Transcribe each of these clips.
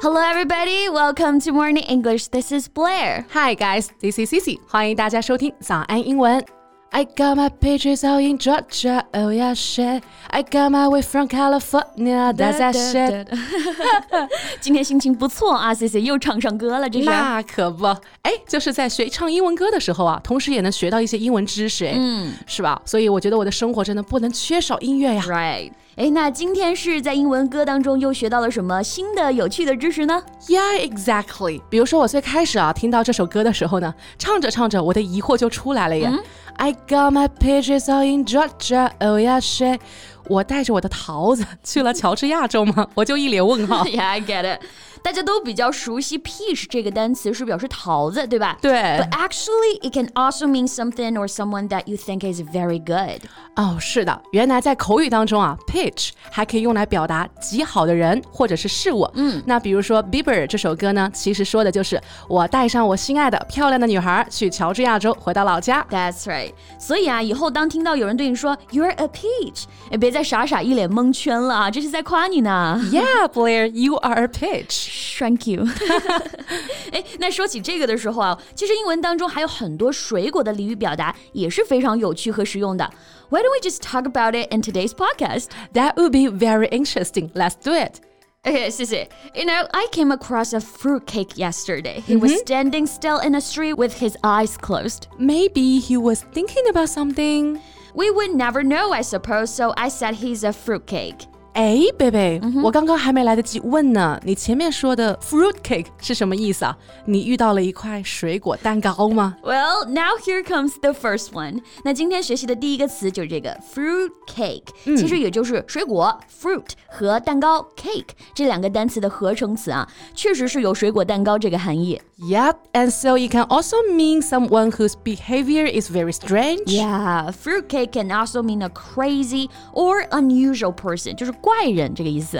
Hello, everybody. Welcome to Morning English. This is Blair. Hi, guys. This is Cici. 欢迎大家收听早安英文。I got my peaches out in Georgia, oh yeah, shit. I got my way from California, that's that shit. 今天心情不错啊 ，Cici 又唱上歌了，这是。 那可不，就是在学唱英文歌的时候啊，同时也能学到一些英文知识，是吧？所以我觉得我的生活真的不能缺少音乐呀。 Right. 那今天是在英文歌当中又学到了什么新的有趣的知识呢？ Yeah, exactly. 比如说我最开始啊听到这首歌的时候呢，唱着唱着我的疑惑就出来了耶。I got my peaches out in Georgia, oh yeah, shit. 我带着我的桃子去了乔治亚州吗？我就一脸问号。 Yeah, I get it. 大家都比较熟悉 peach 这个单词是表示桃子，对吧？ 对。 But actually, it can also mean something or someone that you think is very good. 是的，原来在口语当中啊 peach 还可以用来表达极好的人或者是事物。那比如说 Bieber 这首歌呢，其实说的就是我带上我心爱的漂亮的女孩去乔治亚州回到老家。 That's right. 所以啊，以后当听到有人对你说 You're a peach， 别再傻傻一脸蒙圈了啊，这是在夸你呢。 Yeah, Blair, you are a peach. Thank you. 那说起这个的时候啊，其实英文当中还有很多水果的俚语表达也是非常有趣和实用的。Why don't we just talk about it in today's podcast? That would be very interesting. Let's do it. Okay, Cici, I came across a fruitcake yesterday. He was standing still in a street with his eyes closed. Maybe he was thinking about something. We would never know, I suppose, so I said he's a fruitcake. 贝贝，我刚刚还没来得及问呢，你前面说的 fruit cake 是什么意思啊？你遇到了一块水果蛋糕吗？ Well, now here comes the first one. 那今天学习的第一个词就是这个 fruit cake，其实也就是水果 fruit 和蛋糕 cake 这两个单词的合成词啊，确实是有水果蛋糕这个含义。 Yep, and so it can also mean someone whose behavior is very strange. Yeah, fruit cake can also mean a crazy or unusual person， 就是怪人这个意思。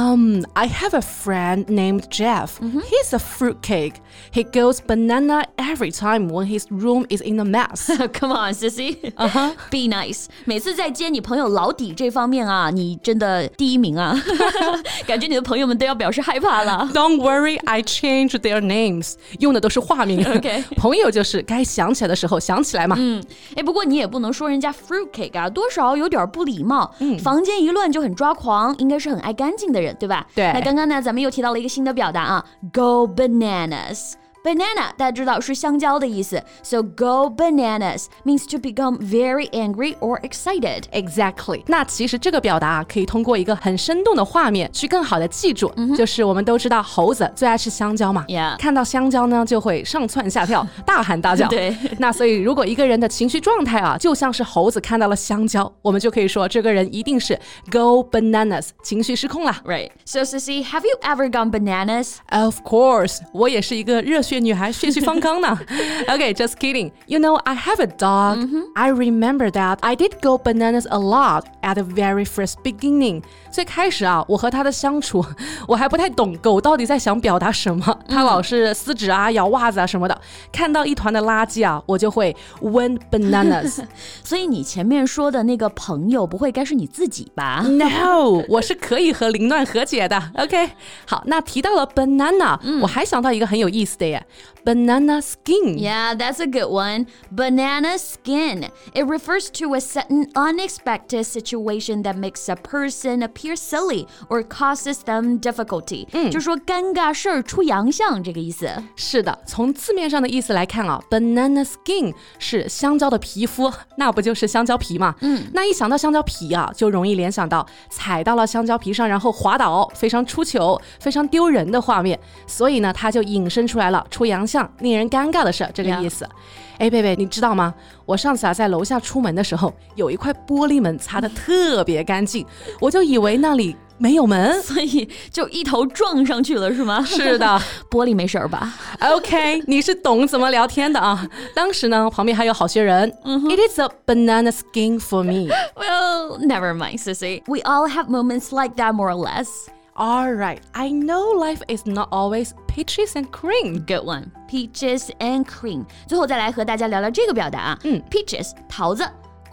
I have a friend named Jeff. He's a fruitcake. He goes banana every time when his room is in a mess. Come on, Sissy. Be nice. 每次在接你朋友老底这方面啊，你真的第一名啊。感觉你的朋友们都要表示害怕了。 Don't worry, I changed their names. 用的都是化名。 Okay. 朋友就是该想起来的时候想起来嘛。 不过你也不能说人家 fruitcake 啊，多少有点不礼貌。房间一乱就很抓狂，应该是很爱干净的人，对吧？ 对。 那刚刚呢，咱们又提到了一个新的表达啊 ，go bananas。Banana 大家知道是香蕉的意思 So go bananas means to become very angry or excited. Exactly. 那其实这个表达啊，可以通过一个很生动的画面去更好的记住，就是我们都知道猴子最爱吃香蕉嘛 Yeah. 看到香蕉呢就会上蹿下跳大喊大叫对。 那所以如果一个人的情绪状态啊就像是猴子看到了香蕉，我们就可以说这个人一定是 go bananas 情绪失控啦。 Right. So Sissy, have you ever gone bananas? Of course. 我也是一个热血女孩，血气方刚呢。Okay, just kidding. You know, I have a dog. I remember that I did go bananas a lot at the very first beginning. 最开始啊，我和它的相处，我还不太懂狗到底在想表达什么。它老是撕纸啊、咬袜子啊什么的。看到一团的垃圾啊，我就会 went bananas. 所以你前面说的那个朋友，不会该是你自己吧 No, 我是可以和凌乱和解的。OK, 好，那提到了 banana，我还想到一个很有意思的耶。Banana skin. Yeah, that's a good one. Banana skin. It refers to a sudden unexpected situation that makes a person appear silly or causes them difficulty. 就说尴尬事儿出洋相这个意思。 是的，从字面上的意思来看啊 ，banana skin 是香蕉的皮肤，那不就是香蕉皮嘛？那一想到香蕉皮啊，就容易联想到踩到了香蕉皮上，然后滑倒，非常出糗、非常丢人的画面。所以呢，它就引申出来了出洋相、令人尴尬的事这个意思。贝贝，你知道吗？我上次啊在楼下出门的时候，有一块玻璃门擦得特别干净，我就以为那里没有门， 所以就一头撞上去了是吗？ 是的。 玻璃没事吧 OK, 你是懂怎么聊天的啊。当时呢，旁边还有好些人。It is a banana skin for me. Well, never mind, Sissy. We all have moments like that more or less. Alright, I know life is not always peaches and cream. Good one. Peaches and cream. 最后再来和大家聊聊这个表达啊。Peaches 桃子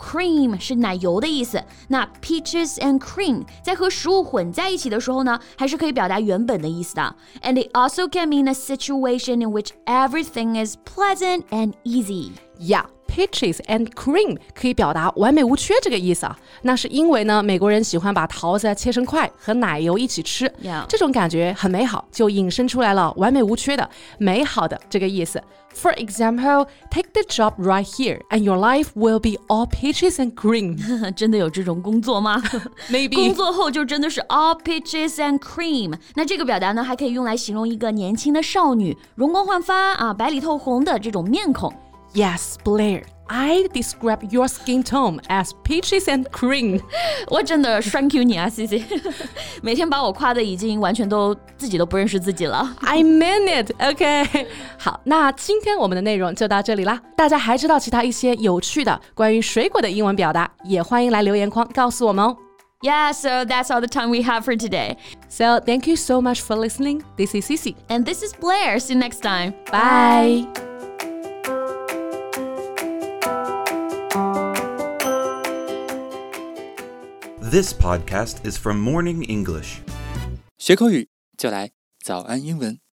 cream 是奶油的意思，那 peaches and cream 在和食物混在一起的时候呢，还是可以表达原本的意思的。And it also can mean a situation in which everything is pleasant and easy. Yeah.Peaches and cream 可以表达完美无缺这个意思啊，那是因为呢，美国人喜欢把桃子切成块和奶油一起吃，这种感觉很美好，就引申出来了完美无缺的、美好的这个意思。For example, take the job right here, and your life will be all peaches and cream. 真的有这种工作吗？ Maybe. 工作后就真的是 all peaches and cream。那这个表达呢，还可以用来形容一个年轻的少女，容光焕发啊，白里透红的这种面孔。 Yes, Blair, I describe your skin tone as peaches and cream. 我真的 thank you 你啊 Cici 每天把我夸的已经完全都自己都不认识自己了。 I mean it, OK 好，那今天我们的内容就到这里啦。大家还知道其他一些有趣的关于水果的英文表达，也欢迎来留言框告诉我们哦。 Yeah, so that's all the time we have for today. So thank you so much for listening. This is Cici. And this is Blair. See you next time. Bye. This podcast is from Morning English. 学口语就来早安英文。